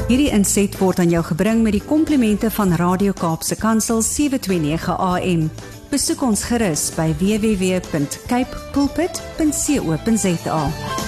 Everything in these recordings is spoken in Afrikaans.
Hierdie inset word aan jou gebring met die komplimente van Radio Kaapse Kansel 729 AM. Besoek ons gerus by www.capepulpit.co.za.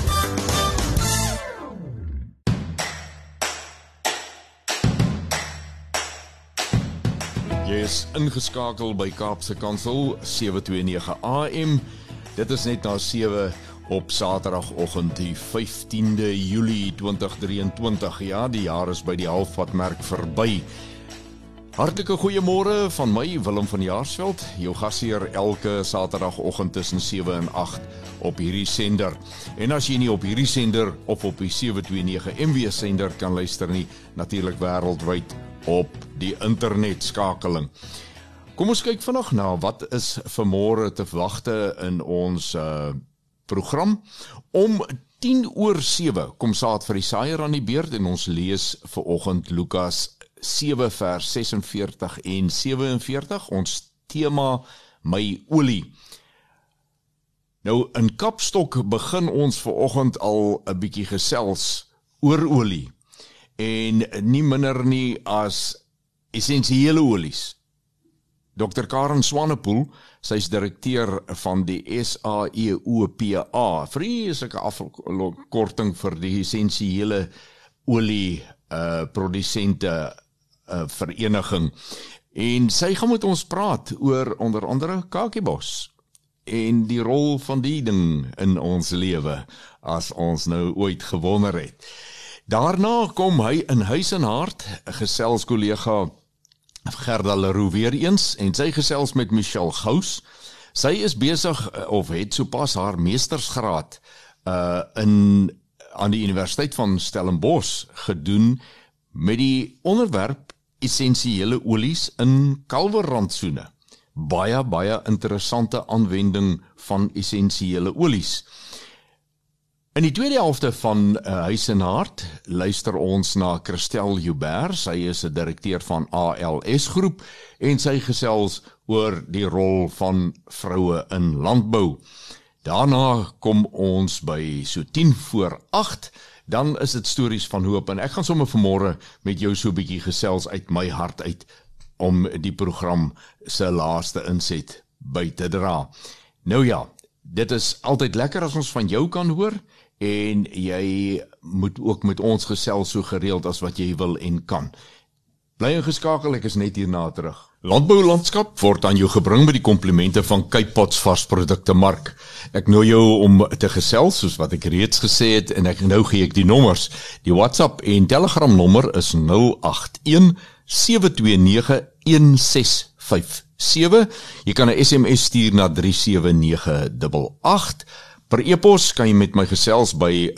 Jy is ingeskakel by Kaapse Kansel 729 AM. Dit is net na 7 op Saterdagoggend die 15de Julie 2023. Ja, die jaar is by die halfpadmerk verby. Hartlike goeiemôre van my, Willem van Jaarsveld, jou gasheer elke Saterdagoggend tussen 7 en 8 op hierdie sender. En as jy nie op hierdie sender of op die 729 MW sender kan luister nie, natuurlik wêreldwyd op die internetskakeling. Kom ons kyk vandag na wat is vanmôre te wagte in ons program. Om 6:10 kom Saad vir die Saaier aan die beurt en ons lees vanoggend Lukas 7 vers 46 en 47, ons tema my olie. Nou in Kapstok begin ons vanoggend al 'n bietjie gesels oor olie en nie minder nie as essensiële olies. Dr. Karen Swanepoel, sy is direkteur van die SAEOPA, vreeslike afkorting vir die essensiële olie produsente vereniging. En sy gaan met ons praat oor onder andere kakiebos en die rol van die ding in ons lewe, as ons nou ooit gewonder het. Daarna kom hy in Huis en Hart, gesels kollega Gerda Leroux weer eens, en sy gesels met Michelle Gous. Sy is besig, of het sopas haar meestersgraad aan die Universiteit van Stellenbosch gedoen met die onderwerp essensiële olies in kalverrantsoene. Baie interessante aanwending van essensiële olies. In die tweede helfte van Huis en Hart luister ons na Christel Joubert. Sy is 'n direkteur van ALS Groep en sy gesels oor die rol van vroue in landbou. Daarna kom ons by so 7:50, dan is dit stories van hoop en ek gaan sommer vanmôre met jou so 'n bietjie gesels uit my hart uit om die program se laaste inset by te dra. Nou ja, dit is altyd lekker as ons van jou kan hoor en jy moet ook met ons gesels so gereeld as wat jy wil en kan. Bly ingeskakel, ek is net hierna terug. Landboulandskap word aan jou gebring met die komplimente van Cape Pots Varsprodukte Mark. Ek nooi jou om te gesels soos wat ek reeds gesê het en nou gee ek die nommers. Die WhatsApp en Telegram nommer is 081 729 1657. Jy kan 'n SMS stuur na 37988. Per e-pos kan jy met my gesels by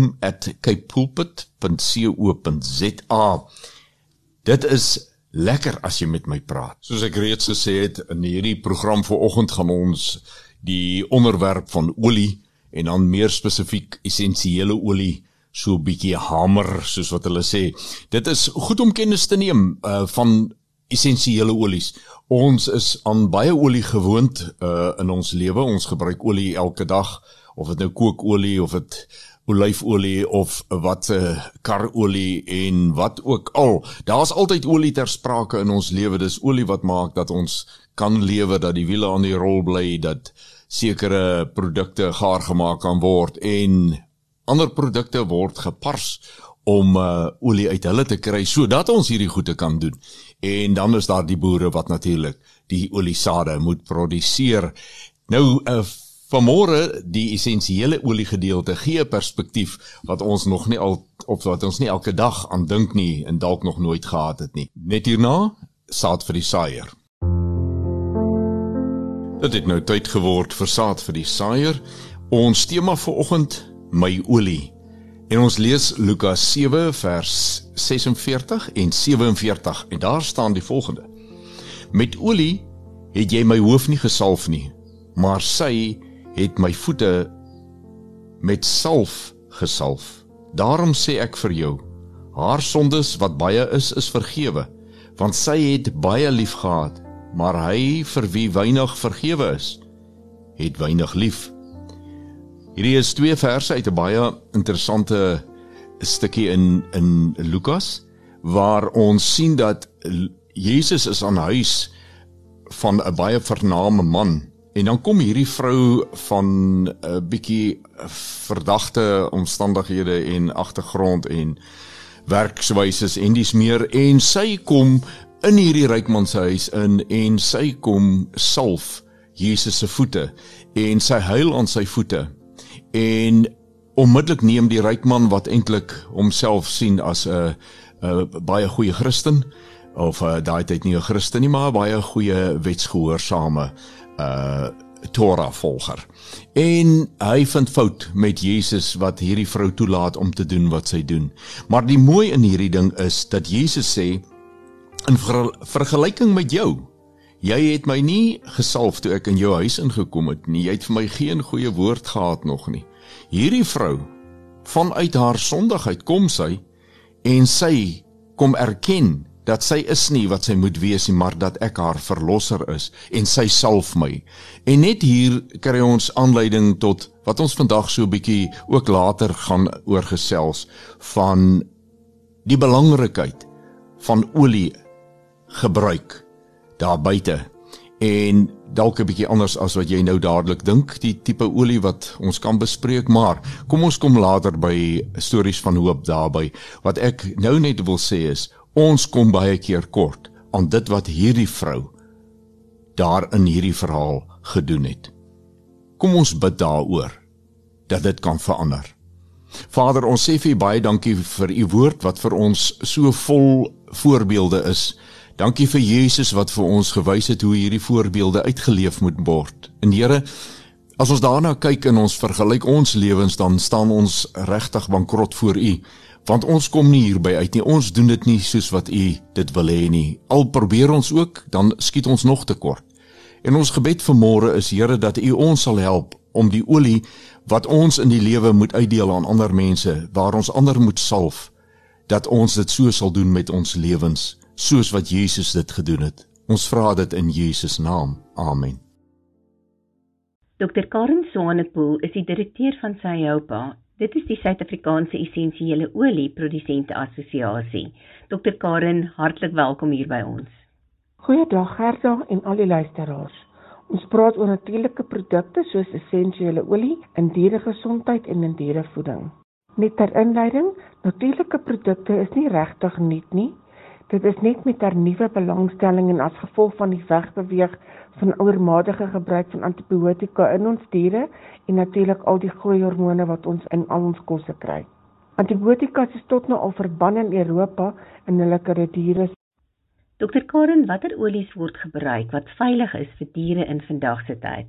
willem@capepulpit.co.za. Dit is lekker as jy met my praat. Soos ek reeds gesê het, in hierdie program vanoggend gaan ons die onderwerp van olie en dan meer spesifiek essensiële olie so 'n bietjie hamer, soos wat hulle sê. Dit is goed om kennis te neem van essensiële olies. Ons is aan baie olie gewoond in ons lewe. Ons gebruik olie elke dag, of dit nou kookolie, of dit olyfolie, of wat karolie en wat ook al. Daar's altyd olie ter sprake in ons lewe. Dis olie wat maak dat ons kan lewe, dat die wiele aan die rol bly, dat sekere produkte gaar gemaak kan word en ander produkte word gepars om olie uit hulle te kry, sodat ons hierdie goede kan doen. En dan is daar die boere wat natuurlik die oliesade moet produseer. Nou, vanmôre die essensiële olie gedeelte gee perspektief wat ons nog nie wat ons nie elke dag aan dink nie en dalk nog nooit gehad het nie. Net hierna, Saad vir die Saaier. Dit het nou tyd geword vir Saad vir die Saaier. Ons tema vanoggend, my olie. En ons lees Lukas 7 vers 46 en 47 en daar staan die volgende. Met olie het jy my hoof nie gesalf nie, maar sy het my voete met salf gesalf. Daarom sê ek vir jou, haar sondes wat baie is vergewe, want sy het baie lief gehad, maar hy vir wie weinig vergewe is, het weinig lief. Hierdie is 2 verse uit 'n baie interessante stukkie in Lukas, waar ons sien dat Jesus is aan huis van 'n baie vername man. En dan kom hierdie vrou van 'n bietjie verdagte omstandighede en agtergrond en werkswyses en dis meer, en sy kom in hierdie rykman se huis in en sy kom salf Jesus se voete en sy huil aan sy voete. En onmiddellik neem die rykman, wat eintlik homself sien as 'n baie goeie Christen, of daai tyd nie 'n Christen nie, maar 'n baie goeie wetsgehoorsame Torah volger. En hy vind fout met Jesus wat hierdie vrou toelaat om te doen wat sy doen. Maar die mooi in hierdie ding is dat Jesus sê, in vergelyking met jou, jy het my nie gesalf toe ek in jou huis ingekom het nie, jy het vir my geen goeie woord gehad nog nie. Hierdie vrou, vanuit haar sondigheid kom sy, en sy kom erken dat sy is nie wat sy moet wees nie, maar dat ek haar verlosser is, en sy salf my. En net hier kry ons aanleiding tot wat ons vandag so 'n bietjie ook later gaan oorgesels, van die belangrikheid van olie gebruik daar buite. En dalk 'n bietjie anders as wat jy nou dadelik dink, die tipe olie wat ons kan bespreek, maar kom ons kom later by stories van hoop daarby. Wat ek nou net wil sê is, ons kom baie keer kort aan dit wat hierdie vrou daar in hierdie verhaal gedoen het. Kom ons bid daaroor, dat dit kan verander. Vader, ons sê vir u baie dankie vir u woord, wat vir ons so vol voorbeelde is. Dankie vir Jesus wat vir ons gewys het hoe hierdie voorbeelde uitgeleef moet word. En Here, as ons daarna kyk en ons vergelyk ons lewens, dan staan ons regtig bankrot voor u, want ons kom nie hierby uit nie, ons doen dit nie soos wat u dit wil hê nie. Al probeer ons ook, dan skiet ons nog tekort. En ons gebed vanmôre is, Here, dat u ons sal help om die olie wat ons in die lewe moet uitdeel aan ander mense, waar ons ander moet salf, dat ons dit so sal doen met ons lewens, soos wat Jesus dit gedoen het. Ons vra dit in Jesus naam. Amen. Dr. Karen Swanepoel is die direkteur van SAIOPA. Dit is die Suid-Afrikaanse Essensiële Olie Produsente Assosiasie. Dr. Karen, hartlik welkom hier by ons. Goeiedag Gerda en al die luisteraars. Ons praat oor natuurlike produkte soos essensiële olie in dieregesondheid en in dierevoeding. Net ter inleiding, natuurlike produkte is nie regtig nuut nie. Dit is net met haar nuwe belangstelling en as gevolg van die wegbeweeg van oormatige gebruik van antibiotika in ons diere en natuurlik al die groeihormone wat ons in al ons kosse kry. Antibiotika is tot nou al verban in Europa in hulle diere. Dr. Karen, watter olies word gebruik wat veilig is vir diere in vandag se tyd?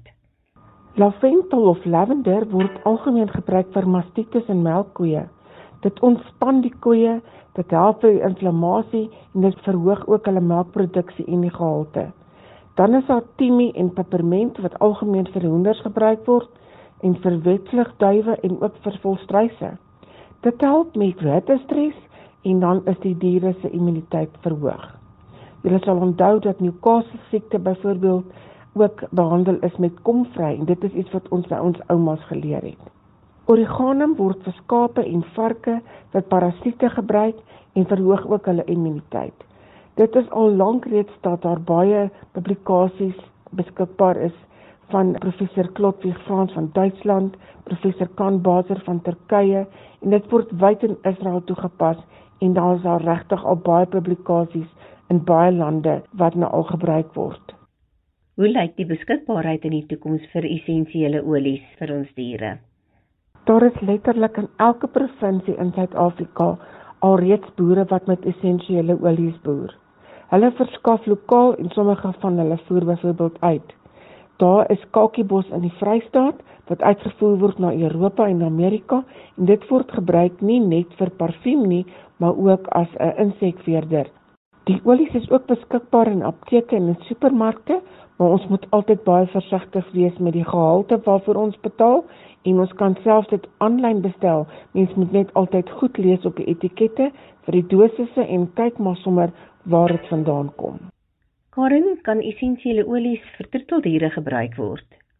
Lavendel of lavender word algemeen gebruik vir mastitis en melkkoeie. Dit ontspan die koeie, dit help vir inflammasie en dit verhoog ook hulle melkproduksie en die gehalte. Dan is daar timie en peperment wat algemeen vir hoenders gebruik word en vir wetvlugduwe en ook vir volstruise. Dit help met hittestres en dan is die diere se immuniteit verhoog. Julle sal onthou dat Newcastle siekte byvoorbeeld ook behandel is met komvry en dit is iets wat ons by ons oumas geleer het. Oregano word vir skape en varke wat parasiete gebruik en verhoog ook hulle immuniteit. Dit is al lank reeds dat daar baie publikasies beskikbaar is van professor Klotwig Frans van Duitsland, professor Kan Baser van Turkye en dit word wyd in Israel toegepas en daar is daar regtig al baie publikasies in baie lande wat nou al gebruik word. Hoe lyk die beskikbaarheid in die toekoms vir essensiële olies vir ons diere? Daar is letterlik in elke provinsie in Suid-Afrika alreeds boere wat met essensiële olies boer. Hulle verskaf lokaal en sommige van hulle voer byvoorbeeld uit. Daar is kakiebos in die Vrystaat wat uitgevoer word na Europa en Amerika en dit word gebruik nie net vir parfuum nie, maar ook as 'n insekveerder. Die olies is ook beskikbaar in apteke en in supermarkte, maar ons moet altyd baie versigtig wees met die gehalte waarvoor ons betaal en ons kan selfs dit aanlyn bestel. Mens moet net altyd goed lees op die etikette vir die dosisse en kyk maar sommer waar dit vandaan kom. Karen, kan essensiële olies vir troeteldiere gebruik word?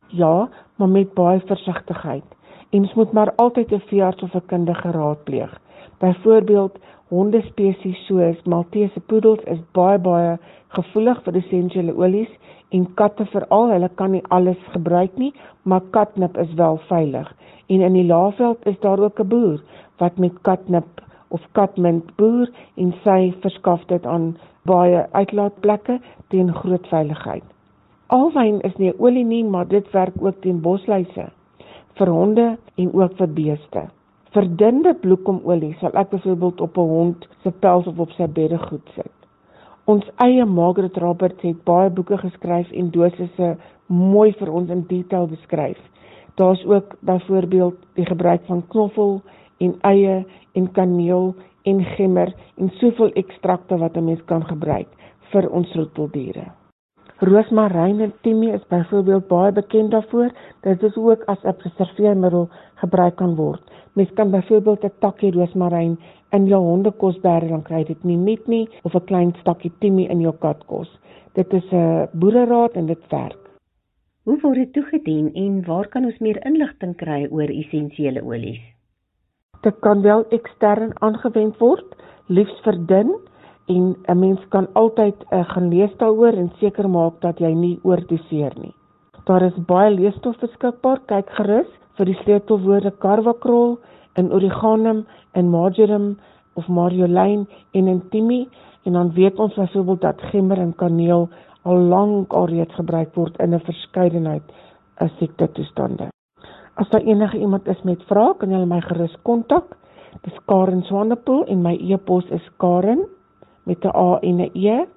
Ja, maar met baie versigtigheid. En ons moet maar altyd 'n veearts of 'n kundige raadpleeg. Byvoorbeeld, hondespesies soos Maltese poedels is baie gevoelig vir essensiële olies en katte veral, hulle kan nie alles gebruik nie, maar katnip is wel veilig. En in die Laagveld is daar ook 'n boer wat met katnip of katmint boer en sy verskaf dit aan baie uitlaatplekke teen groot veiligheid. Alwyn is nie olie nie, maar dit werk ook teen bosluise, vir honde en ook vir beeste. Verdunde bloekomolie sal ek byvoorbeeld op 'n hond se pels of op sy beddegoed sit. Ons eie Margaret Roberts het baie boeke geskryf en dosisse mooi vir ons in detail beskryf. Daar's ook byvoorbeeld die gebruik van knoffel en eie en kaneel en gemmer en soveel ekstrakte wat 'n mens kan gebruik vir ons troeteldiere. Roosmaryn en timie is byvoorbeeld baie bekend daarvoor, dat dit ook as 'n preserveermiddel gebruik kan word. Mens kan byvoorbeeld 'n takkie roosmaryn in jou hondekos bære, dan kry dit nie net nie, of 'n klein stakkie timie in jou katkos. Dit is 'n boereraad en dit werk. Hoe word dit toegedien en waar kan ons meer inligting kry oor essensiële olies? Dit kan wel ekstern aangewend word, liefs verdun, en 'n mens kan altyd gaan lees daaroor en seker maak dat jy nie oordoseer nie. Daar is baie leesstof beskikbaar, kyk gerus vir die sleutelwoorde carvacrol, in origanum, in marjoram of marjolein en in timie, en dan weet ons byvoorbeeld dat gemmer en kaneel al lank alreeds gebruik word in 'n verskeidenheid siektetoestande. As daar enige iemand is met vrae, kan julle my gerus kontak. Dis Karen Swanepoel en my e-pos is Karen met 'n A en 'n E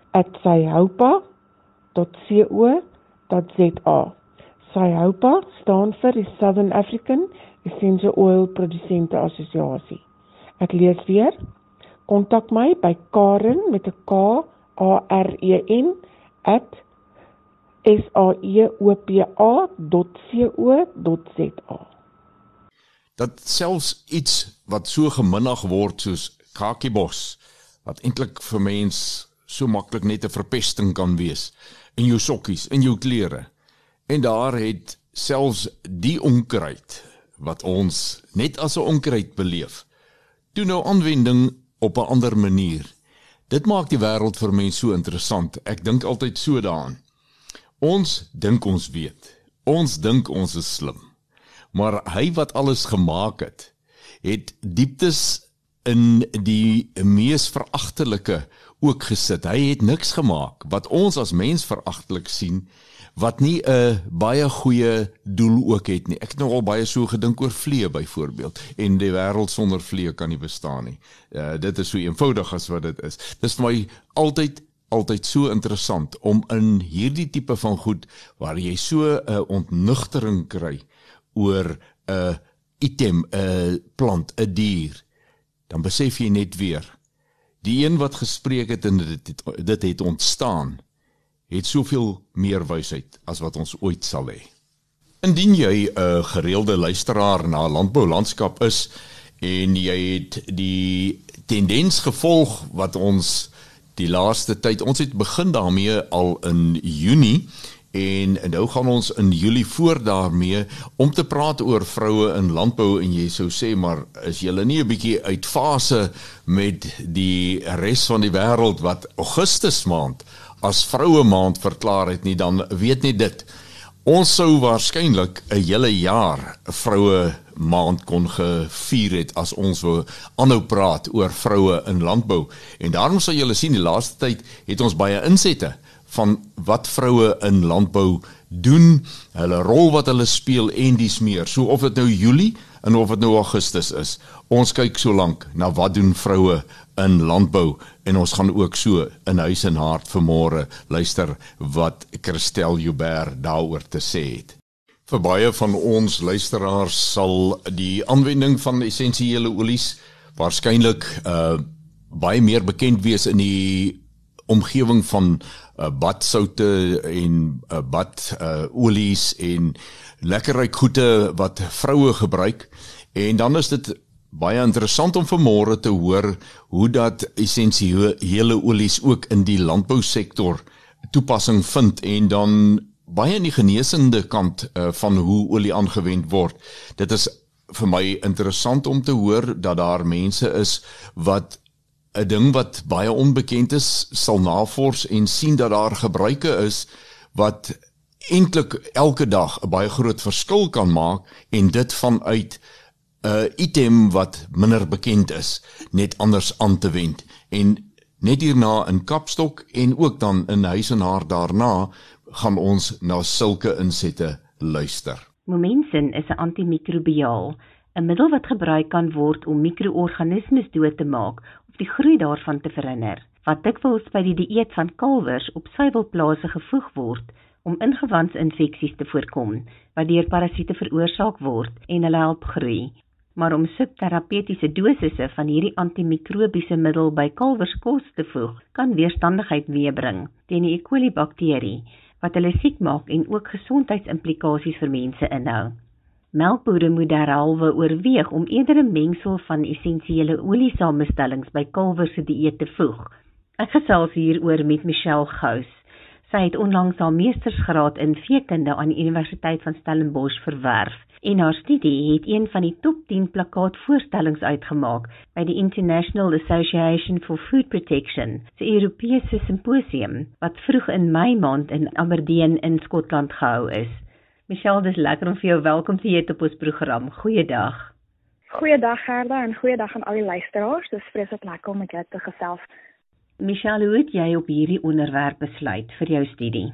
@syhoupa.co.za. SYHOPA staan vir die Southern African Essential Oil Produsente Assosiasie. Ek lees weer. Kontak my by Karen met 'n KAREN @saeopa.co.za. Dat selfs iets wat so geminnig word soos kakiebos, wat eintlik vir mens so maklik net 'n verpesting kan wees, in jou sokkies, in jou klere. En daar het selfs die onkruid, wat ons net as 'n onkruid beleef, toe nou aanwending op 'n ander manier. Dit maak die wêreld vir mense so interessant. Ek dink altyd so daaraan. Ons dink ons weet. Ons dink ons is slim. Maar hy wat alles gemaak het dieptes in die mees veragtelike ook gesit. Hy het niks gemaak wat ons as mens veragtelik sien, wat nie 'n baie goeie doel ook het nie. Ek het nogal baie so gedink oor vliee byvoorbeeld, en die wêreld sonder vliee kan nie bestaan nie. Dit is so eenvoudig as wat dit is. Dit is vir my altyd so interessant om in hierdie tipe van goed, waar jy so 'n ontnugtering kry oor 'n item, 'n plant, 'n dier, dan besef jy net weer, die een wat gespreek het en dit het ontstaan, het soveel meer wysheid as wat ons ooit sal hê. Indien jy 'n gereelde luisteraar na landboulandskap is, en jy het die tendens gevolg wat ons die laaste tyd, ons het begin daarmee al in Junie, en nou gaan ons in Julie voort daarmee om te praat oor vroue in landbou, en jy sou sê, maar is julle nie 'n bietjie uit fase met die res van die wêreld wat Augustus maand as vroue maand verklaar het nie, dan weet nie dit. Ons sou waarskynlik 'n hele jaar vroue maand kon gevier het as ons wou aanhou praat oor vroue in landbou. En daarom sal julle sien, die laaste tyd het ons baie insette van wat vroue in landbou doen, hulle rol wat hulle speel en dies meer. So of dit nou Julie en of dit nou Augustus is, ons kyk so lank na wat doen vroue in landbou, en ons gaan ook so in huis en hart vanmôre luister wat Christel Joubert daaroor te sê het. Vir baie van ons luisteraars sal die aanwending van essensiële olies waarskynlik baie meer bekend wees in die omgewing van badsoute en badolies en lekkerryk goede wat vroue gebruik. En dan is dit baie interessant om vanmôre te hoor hoe dat essensiële olies ook in die landbousektor toepassing vind, en dan baie in die genesende kant van hoe olie aangewend word. Dit is vir my interessant om te hoor dat daar mense is wat 'n ding wat baie onbekend is, sal navors en sien dat daar gebruike is wat eintlik elke dag 'n baie groot verskil kan maak en dit vanuit 'n item wat minder bekend is, net anders aan te wend. En net hierna in Kapstok en ook dan in Huis en Haar daarna gaan ons na sulke insette luister. Momensin is 'n antimikrobiaal, 'n middel wat gebruik kan word om mikroorganismes dood te maak of die groei daarvan te verhinder, wat dikwels by die dieet van kalwers op suiwelplase gevoeg word om ingewandsinfeksies te voorkom, wat deur parasiete veroorsaak word en hulle help groei. Maar om subterapeutiese dosisse van hierdie antimikrobiese middel by kalwers kos te voeg, kan weerstandigheid meebring teen die E. coli bakterie, wat hulle siek maak en ook gesondheidsimplikasies vir mense inhou. Melkbore moet derhalwe oorweeg om eerder 'n mengsel van essensiële oliesamestellings by kalwers se dieet te voeg. Ek gesels hieroor met Michelle Gous. Sy het onlangs haar meestersgraad in veekunde aan die Universiteit van Stellenbosch verwerf en haar studie het een van die top 10 plakkaatvoorstellings uitgemaak by die International Association for Food Protection, se Europese simposium, wat vroeg in Mei maand in Aberdeen in Skotland gehou is. Michelle, dis lekker om vir jou welkom te heet op ons program. Goeiedag. Goeiedag Gerda en goeiedag aan al die luisteraars. Dis vreeslik lekker om met jou te gesels. Michelle, hoe het jy op hierdie onderwerp besluit vir jou studie?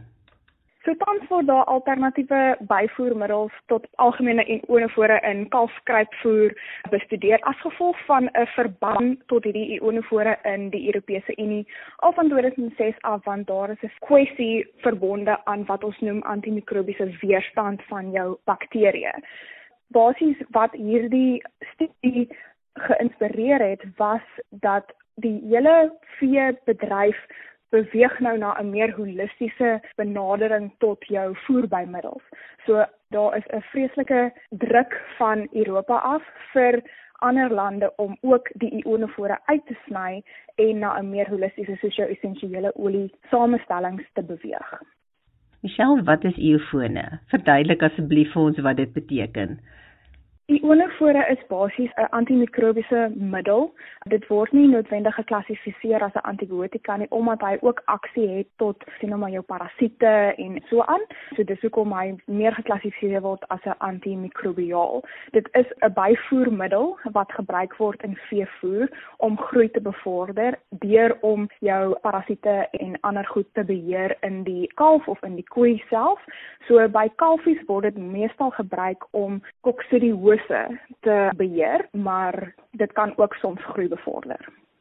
So tans word daar alternatiewe byvoermiddels tot algemene ionofore in kalfskruipvoer bestudeer as gevolg van 'n verbod tot hierdie ionofore in die Europese Unie al van 2006 af, want daar is 'n kwessie verbonde aan wat ons noem antimikrobiese weerstand van jou bakterieë. Basies wat hierdie studie geïnspireer het, was dat die hele veebedryf beweeg nou na 'n meer holistiese benadering tot jou voerbymiddels. So daar is 'n vreeslike druk van Europa af vir ander lande om ook die ionofore uit te sny en na 'n meer holistiese soos jou essensiële olie samestellings te beweeg. Michelle, wat is iofone? Verduidelik asseblief vir ons wat dit beteken. Ionofore is basies 'n antimikrobiese middel. Dit word nie noodwendig geklassifiseer as 'n antibiotika nie, omdat hy ook aksie het tot jou parasiete en so aan. So dis hoekom hy meer geklassifiseer word as 'n antimikrobiaal. Dit is 'n byvoermiddel wat gebruik word in veevoer om groei te bevorder deur om jou parasiete en ander goed te beheer in die kalf of in die koei self. So by kalfies word dit meestal gebruik om koksidiose te beheer, maar dit kan ook soms groei bevorder.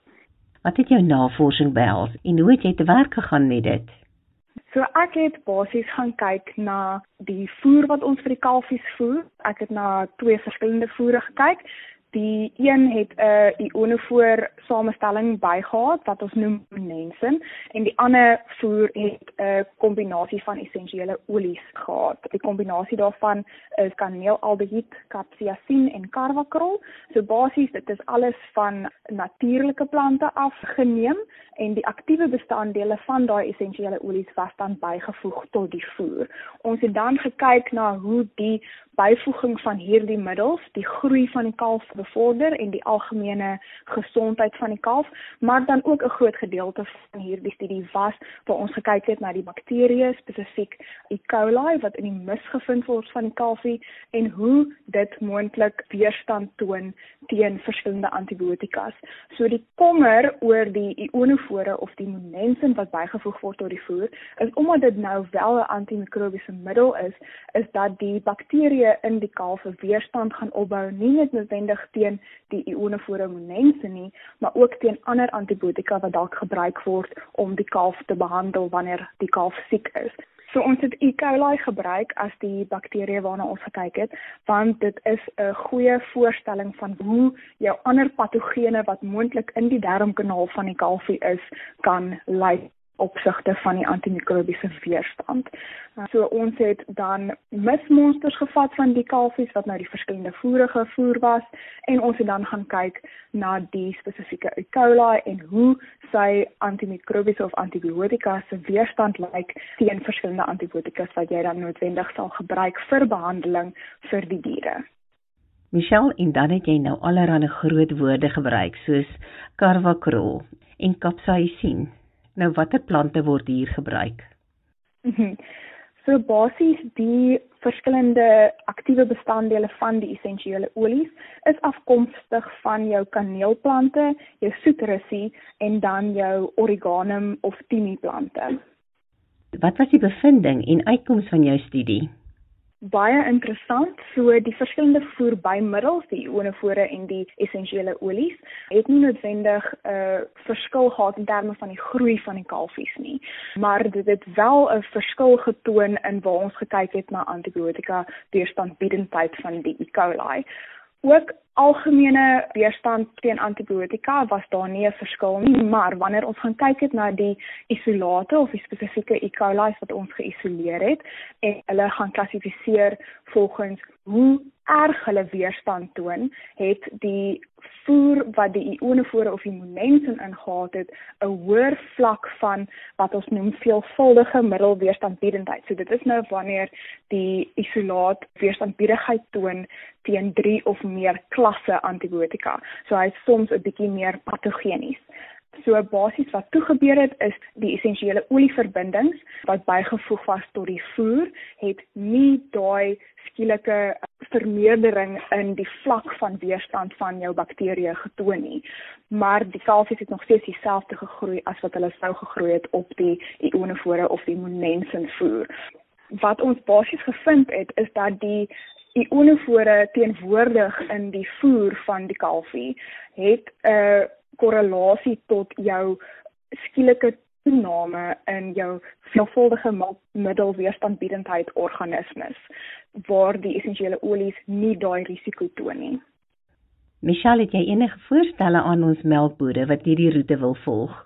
Wat het jou navorsing behels en hoe het jy te werk gegaan met dit? So ek het basies gaan kyk na die voer wat ons vir die kalfies voer. Ek het na 2 verskillende voere gekyk. Die een het 'n ionofoor samestelling bygehad wat ons noem Momensin en die ander voer het 'n kombinasie van essensiële olies gehad. Die kombinasie daarvan is kaneelaldehied, capsaicin en carbakrol. So basies dit is alles van natuurlike plante afgeneem en die aktiewe bestanddele van daai essensiële olies was dan bygevoeg tot die voer. Ons het dan gekyk na hoe die byvoeging van hierdie middels die groei van die kalf bevorder en die algemene gesondheid van die kalf, maar dan ook 'n groot gedeelte van hierdie studie was waar ons gekyk het na die bakterieë, spesifiek E. coli wat in die mis gevind word van die kalfie en hoe dit moontlik weerstand toon teen verskillende antibiotikas. So die kommer oor die ionofore of die Momensin wat bygevoeg word tot die voer, is omdat dit nou wel 'n antimikrobiese middel is dat die bakterieë in die kalf 'n weerstand gaan opbou, nie net noodwendig teen die ionofore Momensin nie, maar ook teen ander antibiotika wat dalk gebruik word om die kalf te behandel wanneer die kalf siek is. So ons het E. coli gebruik as die bakterie waarna ons gekyk het, want dit is 'n goeie voorstelling van hoe jou ander patogene wat moontlik in die darmkanaal van die kalfie is, kan lyk opsigte van die antimikrobiese weerstand. So ons het dan mismonsters gevat van die kalfies wat nou die verskillende voere gevoer was en ons het dan gaan kyk na die spesifieke E. coli en hoe sy antimikrobiese of antibiotika se weerstand lyk teen verskillende antibiotikas wat jy dan noodwendig sal gebruik vir behandeling vir die diere. Michelle, en dan het jy nou allerhande groot woorde gebruik soos carvacrol en capsaicin. Nou watter plante word hier gebruik? So basies die verskillende aktiewe bestanddele van die essensiële olies is afkomstig van jou kaneelplante, jou soeterussie en dan jou origanum of timiplante. Wat was die bevinding en uitkoms van jou studie? Baie interessant, so die verskillende voerbymiddels, die ionofore en die essensiële olies, het nie noodwendig verskil gehad in terme van die groei van die kalfies nie, maar dit het wel 'n verskil getoon in waar ons gekyk het na antibiotika weerstandbiedendheid van die E. coli. Ook algemene weerstand teen antibiotika was daar nie 'n verskil nie, maar wanneer ons gaan kyk het na die isolate of die spesifieke E. coli wat ons geïsoleer het en hulle gaan klassifiseer volgens hoe erg hulle weerstand toon, het die voer wat die ionofore of immunensin ingehad het, 'n hoër vlak van wat ons noem veelvuldige middelweerstandbiedendheid. So dit is nou wanneer die isolaat weerstandbiedigheid toon teen 3 of meer klasse antibiotika. So hy is soms 'n bietjie meer patogenies. So basies wat toegebeur het is die essensiële olieverbindings wat bygevoeg was tot die voer het nie daai skielike vermeerdering in die vlak van weerstand van jou bakterieë getoon nie. Maar die kalfies het nog steeds dieselfde gegroei as wat hulle sou gegroei het op die ionofore of die immunensin voer. Wat ons basies gevind het is dat die ionofore teenwoordig in die voer van die kalfie het 'n korrelasie tot jou skielike toename in jou veelvuldige middelweerstandbiedendheid organismes, waar die essensiële olies nie daai risiko toon nie. Michelle, het jy enige voorstelle aan ons melkbode wat hierdie roete wil volg?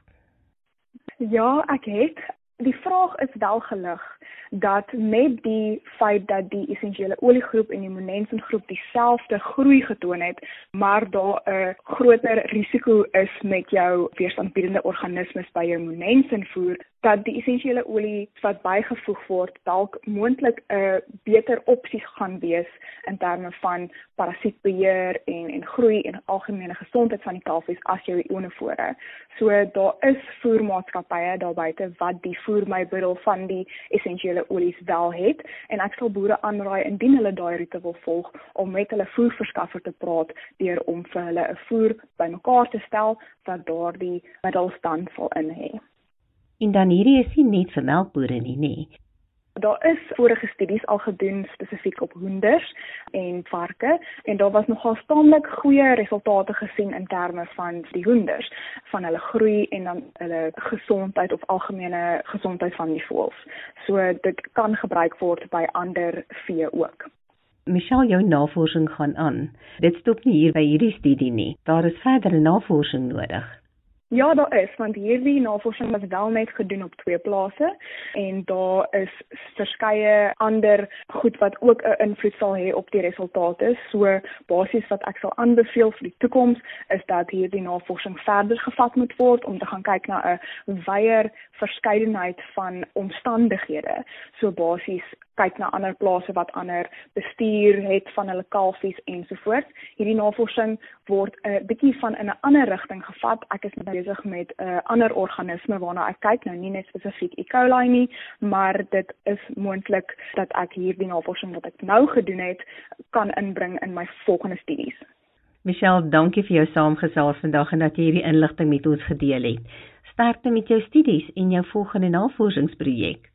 Ja, ek het. Die vraag is wel gelig dat met die feit dat die essensiële oliegroep en die immunensingroep dieselfde groei getoon het, maar daar 'n groter risiko is met jou weerstandbiedende organismes by jou immunensinvoer, dat die essensiële olie wat bygevoeg word dalk moontlik 'n beter opsie gaan wees in terme van parasietbeheer en groei en algemene gesondheid van die kalfies as jou ionofore. So daar is voermaatskappye daar buite wat die voermiddel van die essensiële olies wel het en ek sal boere aanraai indien hulle daai roete wil volg om met hulle voerverskaffer te praat deur om vir hulle 'n voer bymekaar te stel wat daardie middels dan sal in hê. En dan hierdie is nie net vir melkbode nie, nê? Daar is vorige studies al gedoen spesifiek op hoenders en varke en daar was nogal taamlik goeie resultate gesien in terme van die hoenders, van hulle groei en dan hulle gesondheid of algemene gesondheid van die voëls. So dit kan gebruik word by ander vee ook. Michelle, jou navorsing gaan aan. Dit stop nie hier by hierdie studie nie. Daar is verdere navorsing nodig. Ja, daar is, want hierdie navorsing was wel net gedoen op 2 plase en daar is verskeie ander goed wat ook 'n invloed sal hê op die resultate. So basies wat ek sal aanbeveel vir die toekoms is dat hierdie navorsing verder gevat moet word om te gaan kyk na 'n wyeer verskeidenheid van omstandighede. So basies kyk na ander plase wat ander bestuur het van hulle kalfies ensovoorts. Hierdie navorsing word 'n bietjie van in 'n ander rigting gevat. Ek is besig met 'n ander organisme waarna ek kyk, nou nie net spesifiek E. coli nie, maar dit is moontlik dat ek hierdie navorsing wat ek nou gedoen het, kan inbring in my volgende studies. Michelle, dankie vir jou saamgesels vandag en dat jy hierdie inligting met ons gedeel het. Sterkte met jou studies en jou volgende navorsingsprojek.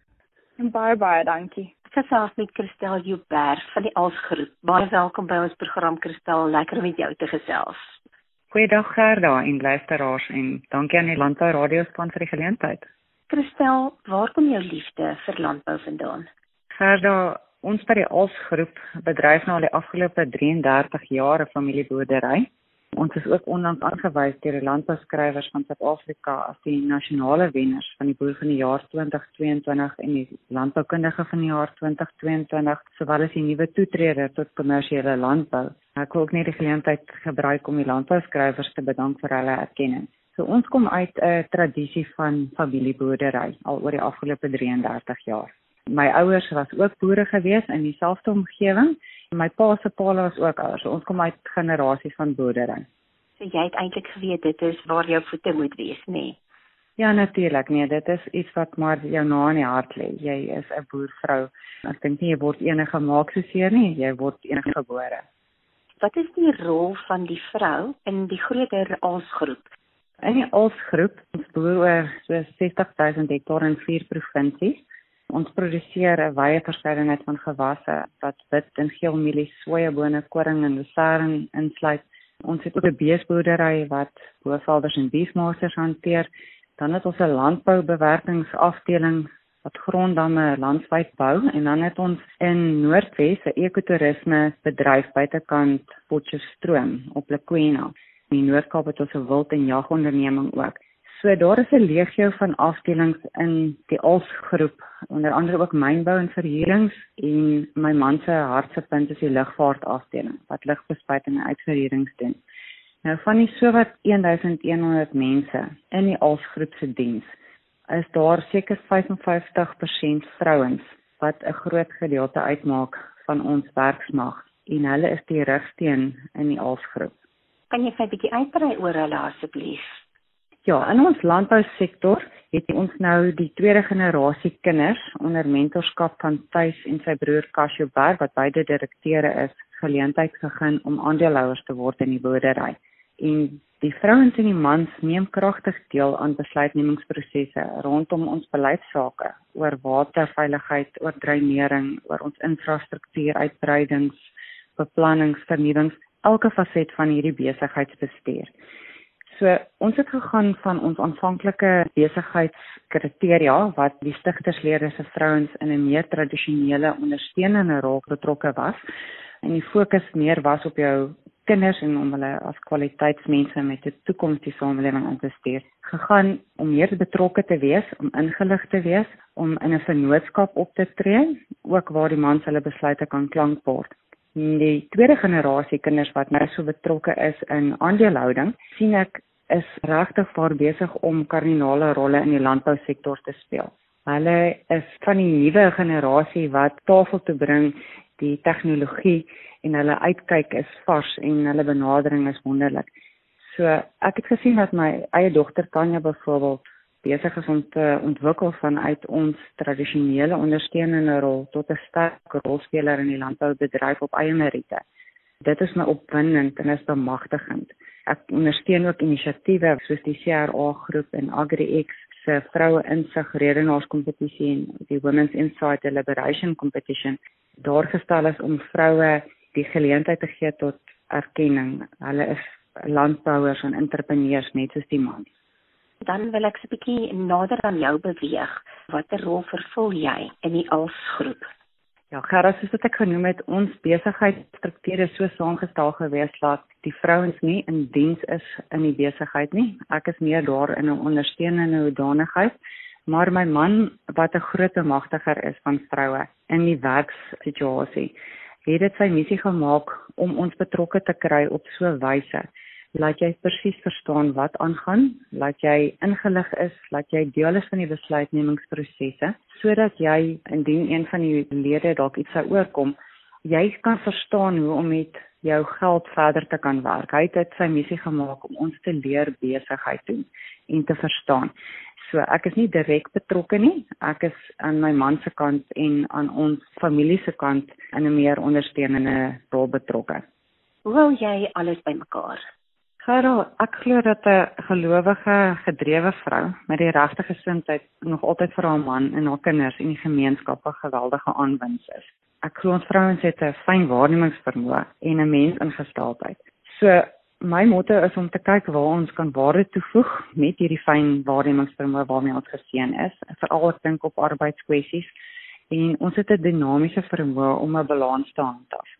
Baie dankie. Ek gesels met Christel Joubert van die ALS-groep. Baie welkom by ons program, Christel. Lekker om met jou te gesels. Goeiedag Gerda en luisteraars en dankie aan die Landbou Radiospan vir die geleentheid. Christel, waar kom jou liefde vir landbou vandaan? Gerda, ons by die ALS-groep bedryf nou al die afgelope 33 jaar 'n familieboerdery Ons is ook onlangs aangewys deur die landbouskrywers van Suid-Afrika as die nasionale wenners van die boer van die jaar 2022 en die landboukundige van die jaar 2022, sowel as die nuwe toetreder tot kommersiële landbou. Ek wil ook net die geleentheid gebruik om die landbouskrywers te bedank vir hulle erkenning. So ons kom uit 'n tradisie van familieboerdery al oor die afgelope 33 jaar. My ouers was ook boere gewees in dieselfde omgewing. My pa se pa was ook ouers. So ons kom uit generasies van boerdery. So jy het eintlik geweet dit is waar jou voete moet wees, nê? Ja, natuurlik. Nee, dit is iets wat maar jou na in die hart lê. Jy is 'n boervrou. Ek dink nie jy word enige gemaak soos nie, jy word enige gebore. Wat is die rol van die vrou in die groter alsgroep? In die alsgroep, ons boer oor so 60,000 hektaar in 4 provinsies. Ons produseer 'n wye verskeidenheid van gewasse wat wit en geel mielies, sojabone, koring en lucerne insluit. Ons het ook 'n beesboerdery wat boervelders en beefmasters hanteer. Dan het ons 'n landboubewerkingsafdeling wat gronddamme landwyd bou en dan het ons in Noordwes 'n ekotourisme bedryf buitekant Potchefstroom op Lekwena. In die Noord-Kaap het ons 'n wild- en jagonderneming ook. So daar is 'n legio van afdelings in die alsgroep, onder andere ook mynbou en verhuurings en my man se hartsepunt is die lugvaartafdeling wat lugbespuiting en uitverhuurings doen. Nou van die sowat 1100 mense in die alsgroep se diens, is daar seker 55% vrouens wat 'n groot gedeelte uitmaak van ons werksmag en hulle is die rigsteen in die alsgroep. Kan jy vir 'n bietjie uitbrei oor hulle asseblief? Ja, in ons landbousektor het ons nou die tweede generasie kinders onder mentorskap van Thys en sy broer Casio Berg, wat beide direkteure is, geleentheid gegee om aandeelhouers te word in die boerdery. En die vrouens en die mans neem kragtig deel aan besluitnemingsprosesse rondom ons beleidsake oor waterveiligheid, oor dreinering, oor ons infrastruktuur, uitbreidings, beplannings, vernuwings, elke faset van hierdie besigheidsbestuur. So, ons het gegaan van ons aanvanklike besigheidskriteria wat die stigterslede se vrouens in 'n meer tradisionele ondersteunende rol betrokke was en die fokus meer was op jou kinders en om hulle as kwaliteitsmense met 'n toekoms die samelewing in te stuur, gegaan om meer betrokke te wees, om ingelig te wees, om in 'n vennootskap op te tree, ook waar die mans hulle besluite kan klankbord. Die tweede generasie kinders wat nou so betrokke is in aandelehouding, sien ek is regtig waar besig om kardinale rolle in die landbousektor te speel. Hulle is van die nuwe generasie wat tafel toe bring die tegnologie en hulle uitkyk is vars en hulle benadering is wonderlik. So ek het gesien dat my eie dogter Tanya byvoorbeeld besig is om te ontwikkel vanuit ons tradisionele ondersteunende rol tot 'n sterk rolspeler in die landboubedryf op eie meriete. Dit is my opwindend en is bemagtigend. Ek ondersteun ook inisiatiewe soos die CRA groep en AgriX se vroue insig redenaarskompetisie en die Women's Insight Deliberation Competition. Daar gestel is om vroue die geleentheid te gee tot erkenning. Hulle is landbouers en entrepreneurs net soos die mans. Dan wil ek so 'n bietjie nader aan jou beweeg. Watter rol vervul jy in die alsgroep? Ja, Gerard, soos wat ek genoem het, ons besigheidsstruktuur is so saamgestel gewees dat die vrouens nie in diens is in die besigheid nie. Ek is meer daar in 'n ondersteunende hoedanigheid, maar my man, wat 'n groot bemagtiger is van vroue in die werkssituasie, het dit sy missie gemaak om ons betrokke te kry op so 'n wyse laat jy presies verstaan wat aangaan, laat jy ingelig is, laat jy deel is van die besluitnemingsprosesse, sodat jy, indien een van die lede dalk iets sou oorkom, jy kan verstaan hoe om met jou geld verder te kan werk. Hy het dit sy missie gemaak om ons te leer besigheid doen en te verstaan. So ek is nie direk betrokke nie, ek is aan my man se kant en aan ons familie se kant in 'n meer ondersteunende rol betrokke. Hoe hou jy alles bymekaar? Gerard, ek glo dat 'n gelowige, gedrewe vrou met die regte gesindheid nog altyd vir haar man en haar kinders en die gemeenskap 'n geweldige aanwinst is. Ek glo ons vrouens het 'n fyn waarnemingsvermoë en 'n mensingesteldheid. So my motto is om te kyk waar ons kan waarde toevoeg met hierdie fyn waarnemingsvermoë waarmee ons geseën is, veral ek dink op arbeidskwessies. En ons het 'n dinamiese vermoë om 'n balans te handhaaf.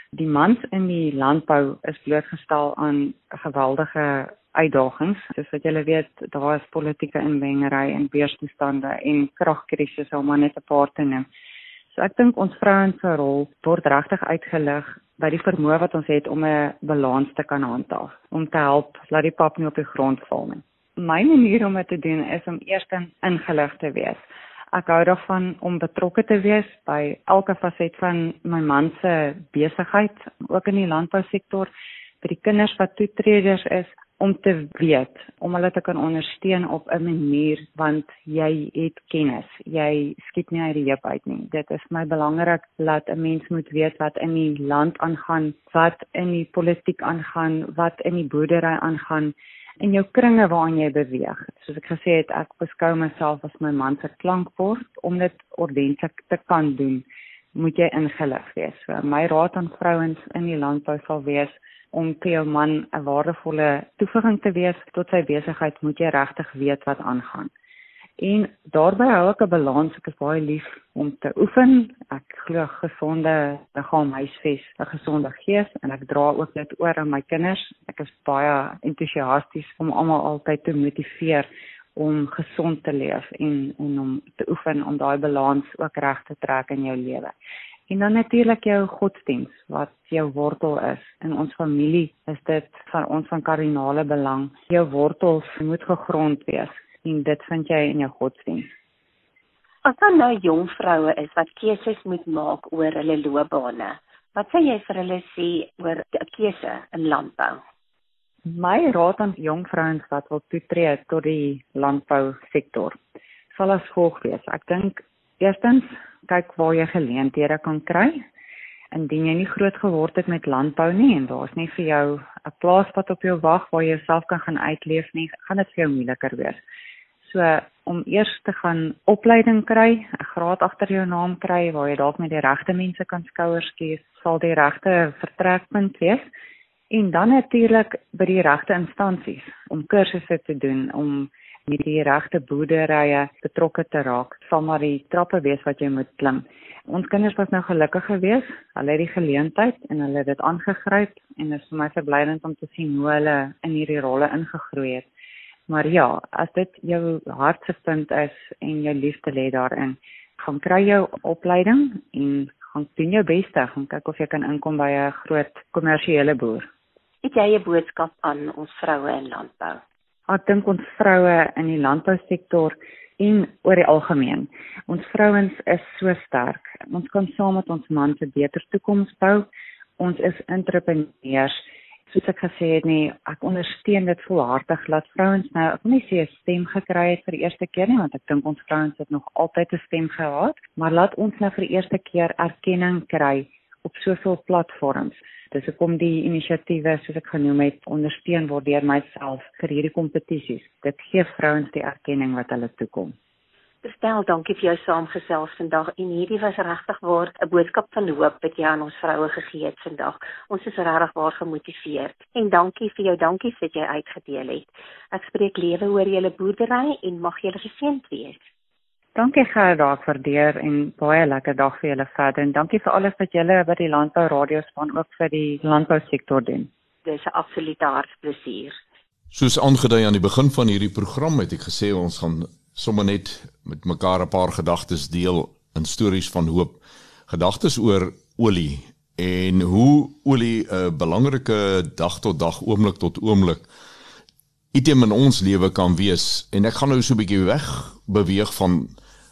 Die mans in die landbou is blootgestel aan geweldige uitdagings. Soos wat julle weet, daar is politieke inmengery en weerstoestande en kragkrisis om maar net 'n paar te noem. So ek dink ons vrouens se rol word regtig uitgelig by die vermoë wat ons het om 'n balans te kan handhaaf, om te help laat die pap nie op die grond val nie. My manier om dit te doen is om eerstens ingelig te wees. Ek hou daarvan om betrokke te wees by elke faset van my man se besigheid, ook in die landbousektor, by die kinders wat toetreders is, om te weet, om hulle te kan ondersteun op 'n manier, want jy het kennis, jy skiet nie uit die heup uit nie. Dit is my belangrik dat 'n mens moet weet wat in die land aangaan, wat in die politiek aangaan, wat in die boerdery aangaan, in jou kringe waarin jy beweeg. Soos ek gesê het, ek beskou myself as my man se klankbord. Om dit ordentlik te kan doen, moet jy ingelig wees. So, my raad aan vrouens in die landbou sal wees, om vir jou man 'n waardevolle toevoeging te wees tot sy besigheid, moet jy regtig weet wat aangaan. En daarbey hou ek 'n balans. Ek is baie lief om te oefen. Ek glo gesonde liggaam huisves 'n gesonde gees, en ek dra ook dit oor aan my kinders. Ek is baie entoesiasties om almal altyd te motiveer om gesond te leef en om te oefen, om daai balans ook reg te trek in jou lewe. En dan natuurlik jou godsdiens, wat jou wortel is. In ons familie is dit van ons van kardinale belang. Jou wortels moet gegrond wees, en dit vind jy in jou godsdiens. As daar nou jong vroue is wat keuses moet maak oor hulle loopbane, wat sê jy vir hulle sê oor 'n keuse in landbou? My raad aan jong vrouens wat wil toetree tot die landbousektor sal as volg wees. Ek dink eerstens, kyk waar jy geleenthede kan kry. Indien jy nie groot geword het met landbou nie, en daar is nie vir jou 'n plaas wat op jou wag waar jy jouself kan gaan uitleef nie, gaan dit vir jou moeiliker wees. So, om eers te gaan opleiding kry, 'n graad agter jou naam kry, waar jy dalk met die regte mense kan skouers skies, sal die regte vertrekpunt wees. En dan natuurlik by die regte instansies, om kursusse te doen, om met die regte boerderye betrokke te raak, sal maar die trappe wees wat jy moet klim. Ons kinders was nou gelukkig geweest, hulle het die geleentheid en hulle het dit aangegryp, en dit is vir my verblydend om te sien hoe hulle in hierdie rolle ingegroei het. Maar ja, as dit jou hartsepunt is en jou liefde lê daarin, gaan kry jou opleiding en gaan doen jou beste, gaan kyk of jy kan inkom by 'n groot kommersiële boer. Het jy 'n boodskap aan ons vroue in landbou? Ek dink ons vroue in die landbousektor en oor die algemeen, ons vrouens is so sterk. Ons kan saam met ons man 'n beter toekoms bou. Ons is entrepreneurs. Soos ek gesê het nie, ek ondersteun dit volhartig, laat vrouens nou, ek wil nie sê 'n stem gekry het vir die eerste keer nie, want ek dink ons vrouens het nog altyd 'n stem gehad, maar laat ons nou vir die eerste keer erkenning kry op soveel platforms. Dis hoekom die inisiatiewe, soos ek genoem het, ondersteun word deur myself vir hierdie kompetisies. Dit gee vrouens die erkenning wat hulle toekom. Christel, dankie vir jou saamgesels vandag, en hierdie was regtig waar 'n boodskap van hoop wat jy aan ons vroue gegee het vandag. Ons is regtig waar gemotiveerd, en dankie vir jou dankies wat jy uitgedeel het. Ek spreek lewe oor julle boerdery en mag julle geseënd wees. Dankie Gerda, ek waardeer, en baie lekker dag vir julle verder, en dankie vir alles wat julle by die landbou radiospan ook vir die landbousektor doen. Dis 'n absolute hartsplesier. Soos aangedui aan die begin van hierdie program het ek gesê ons gaan sommer net met mekaar 'n paar gedagtes deel in stories van hoop. Gedagtes oor olie en hoe olie 'n belangrike dag tot dag, oomblik tot oomblik item in ons lewe kan wees. En ek gaan nou so 'n bietjie weg beweeg van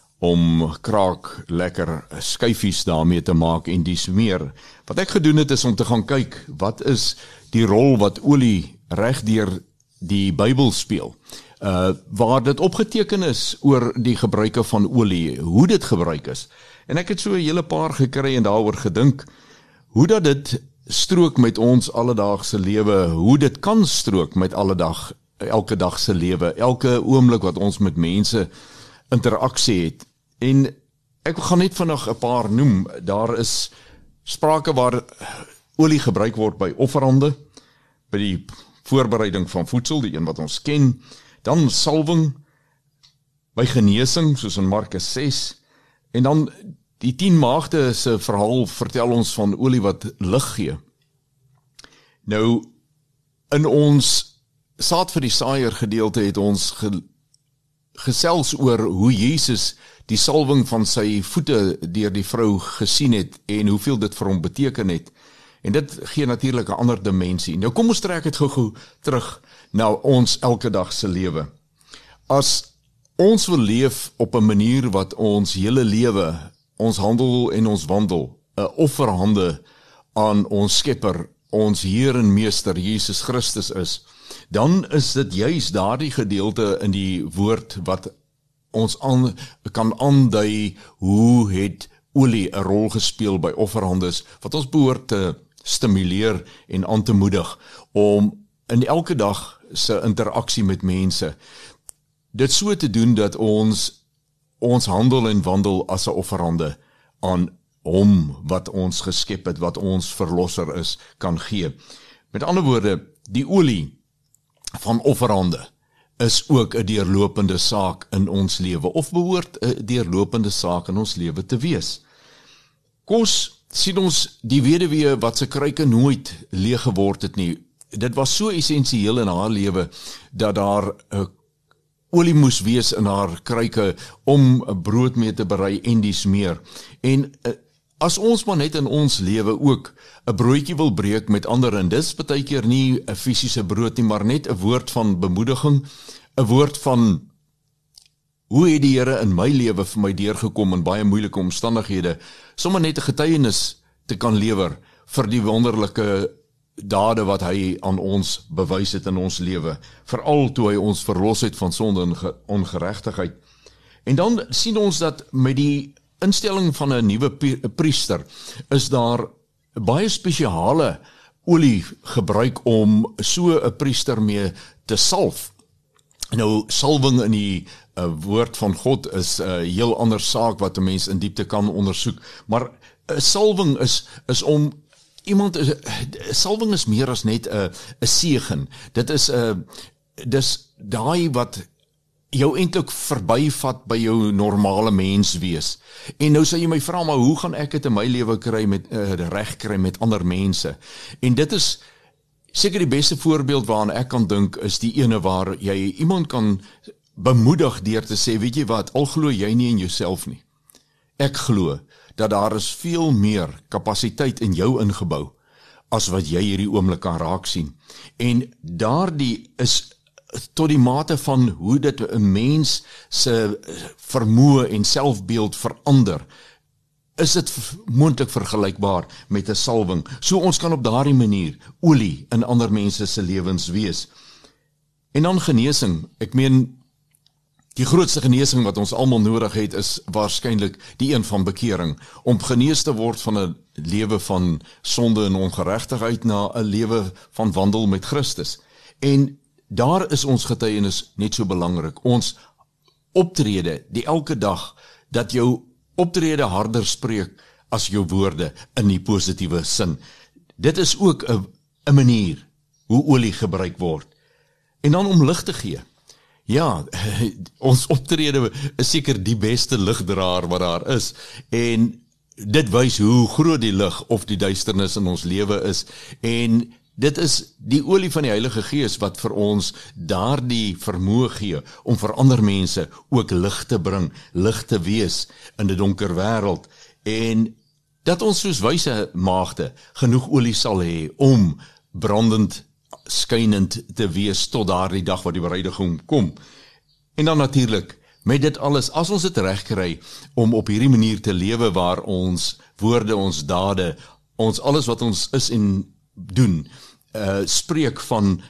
om kraak lekker skyfies daarmee te maak en dis meer. Wat ek gedoen het is om te gaan kyk, wat is die rol wat olie reg deur die Bybel speel? Waar dit opgeteken is oor die gebruike van olie, hoe dit gebruik is. En ek het so 'n hele paar gekry en daaroor gedink, hoe dat dit strook met ons alledaagse lewe, hoe dit kan strook met elke dag se lewe, elke oomblik wat ons met mense interaksie het. En ek gaan net vinnig 'n paar noem. Daar is sprake waar olie gebruik word by offerande, by die voorbereiding van voedsel, die een wat ons ken, dan salwing, by genesing, soos in Markus 6, en dan Die 10 maagde se verhaal vertel ons van olie wat lig gee. Nou, in ons saad vir die saaier gedeelte het ons gesels oor hoe Jesus die salwing van sy voete deur die vrou gesien het en hoeveel dit vir hom beteken het. En dit gee natuurlik 'n ander dimensie. Nou kom ons trek dit gou-gou terug na ons elke dag se lewe. As ons wil leef op 'n manier wat ons hele lewe, ons handel en ons wandel, 'n offerhande aan ons Skepper, ons Heer en Meester Jesus Christus is, dan is dit juis daardie gedeelte in die woord wat ons kan aandui hoe het olie 'n rol gespeel by offerhandes, wat ons behoort te stimuleer en aan te moedig om in elke dag se interaksie met mense dit so te doen dat ons handel en wandel as 'n offerhande aan hom wat ons geskep het, wat ons verlosser is, kan gee. Met ander woorde, die olie van offerhande is ook 'n deurlopende saak in ons lewe, of behoort 'n deurlopende saak in ons lewe te wees. Kos sien ons die weduwee wat se kruike nooit leeg geword het nie. Dit was so essensieel in haar lewe dat daar olie moes wees in haar kruike om brood mee te berei en dies meer. En as ons maar net in ons lewe ook 'n broodjie wil breek met ander, en dis baie keer nie 'n fisiese brood nie, maar net 'n woord van bemoediging, 'n woord van hoe het die Here in my lewe vir my deurgekom in baie moeilike omstandighede, sommer net 'n getuienis te kan lewer vir die wonderlike dade wat hy aan ons bewys het in ons lewe, veral toe hy ons verlos het van sonde en ongeregtigheid. En dan sien ons dat met die instelling van 'n nuwe priester is daar baie spesiale olie gebruik om so 'n priester mee te salf. Nou, salwing in die woord van God is 'n heel ander saak wat 'n mens in diepte kan ondersoek, maar 'n salwing is om salwing is meer as net 'n seën. Dit is dis daai wat jou eintlik verbyvat by jou normale mens wees. En nou sê jy my vra, maar hoe gaan ek dit in my lewe kry reg kry met ander mense? En dit is seker die beste voorbeeld waaraan ek kan dink, is die ene waar jy iemand kan bemoedig deur te sê, weet jy wat, al glo jy nie in jouself nie. Ek glo dat daar is veel meer kapasiteit in jou ingebou as wat jy hierdie oomblik kan raak sien. En daardie is tot die mate van hoe dit 'n mens se vermoë en selfbeeld verander, is dit moontlik vergelykbaar met 'n salwing. So ons kan op daardie manier olie in ander mense se lewens wees. En dan genesing. Ek meen, die grootste genesing wat ons almal nodig het is waarskynlik die een van bekering, om genees te word van 'n lewe van sonde en ongeregtigheid na 'n lewe van wandel met Christus. En daar is ons getuienis net so belangrik. Ons optrede die elke dag, dat jou optrede harder spreek as jou woorde in die positiewe sin. Dit is ook 'n manier hoe olie gebruik word. En dan om lig te gee. Ja, ons optrede is seker die beste ligdraer wat daar is. En dit wys hoe groot die lig of die duisternis in ons lewe is. En dit is die olie van die Heilige Gees wat vir ons daardie vermoë gee om vir ander mense ook lig te bring, lig te wees in 'n donker wêreld, en dat ons soos wyse maagde genoeg olie sal hê om brandend, skynend te wees tot daardie dag wat die bruidegom kom. En dan natuurlik, met dit alles, as ons dit reg kry om op hierdie manier te lewe waar ons woorde, ons dade, ons alles wat ons is en doen, spreek van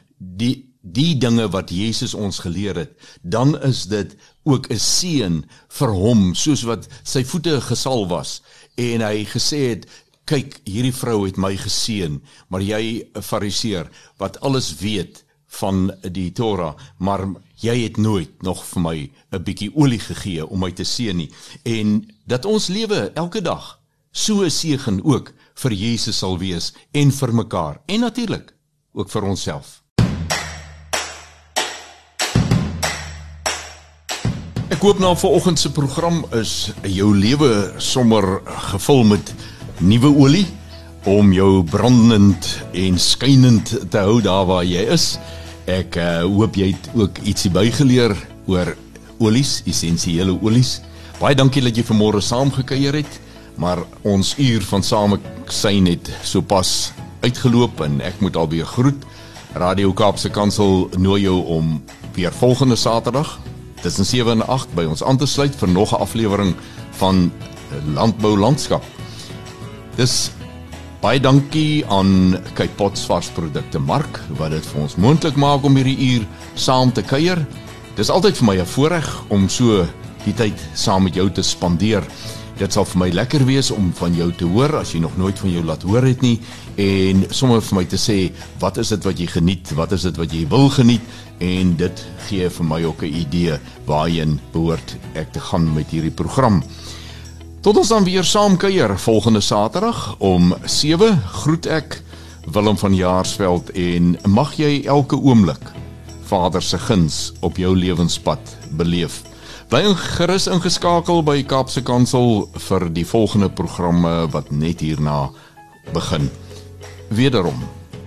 die dinge wat Jesus ons geleer het, dan is dit ook 'n seën vir hom, soos wat sy voete gesalf was, en hy gesê het, kyk, hierdie vrou het my geseën, maar jy, 'n Fariseer, wat alles weet van die Torah, maar jy het nooit nog vir my 'n bietjie olie gegee om my te seën nie. En dat ons lewe elke dag so 'n seën ook vir Jesus sal wees, en vir mekaar, en natuurlik ook vir onsself. Ek Ek hoop na vanoggend se program is jou lewe sommer gevul met nuwe olie om jou brandend en skynend te hou daar waar jy is. Ek hoop jy het ook ietsie bygeleer oor olies, essensiële olies. Baie dankie dat jy vanmôre saamgekuier het, maar ons uur van samesyn het sopas uitgeloop en ek moet alweer groet. Radio Kaapse Kansel nooi jou om weer volgende Saterdag tussen 7 en 8 by ons aan te sluit vir nog 'n aflewering van Landbou Landskap. Dis baie dankie aan Cape Pots varsprodukte Mark wat dit vir ons moontlik maak om hierdie uur saam te kuier. Dis altyd vir my 'n voorreg om so die tyd saam met jou te spandeer. Dit sal vir my lekker wees om van jou te hoor as jy nog nooit van jou laat hoor het nie en sommer vir my te sê wat is dit wat jy geniet, wat is dit wat jy wil geniet en dit gee vir my ook 'n idee waarheen behoort ek te gaan met hierdie program. Tot ons dan weer saam kuier volgende Saterdag om 7 groet ek Willem van Jaarsveld en mag jy elke oomblik Vader se guns op jou lewenspad beleef. Bly gerus ingeskakel by Kaapse Kansel vir die volgende programme wat net hierna begin. Wederom.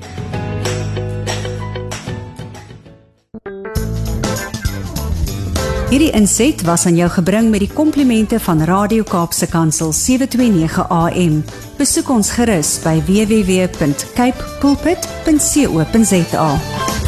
Hierdie inset was aan jou gebring met die komplimente van Radio Kaapse Kansel 729 AM. Besoek ons gerus by www.cape pulpit.co.za.